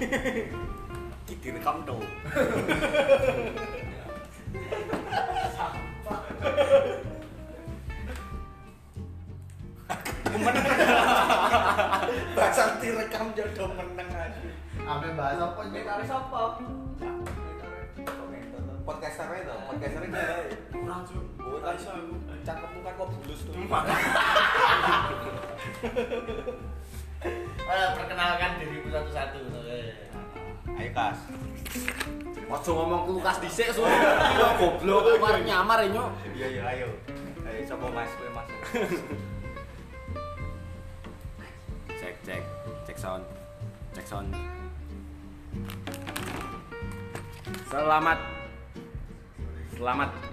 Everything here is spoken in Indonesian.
Iki direkam to. Meneng. Bahasa direkam jodoh meneng aja. Ame bahas apa nyek Komentari sapa? Podcaster itu, podcaster itu. Langsung. Oh, tak iso aku. Cakepmu kan kok bulus tuh. Perkenalkan dirimu satu-satu. Ayo Kas. Ojo ngomong ke Lukas dhisik su. Yo goblok kok nyamar nyok. Iya iya ayo. Ayo coba Mas, kowe Mas. Cek sound. Cek sound. Selamat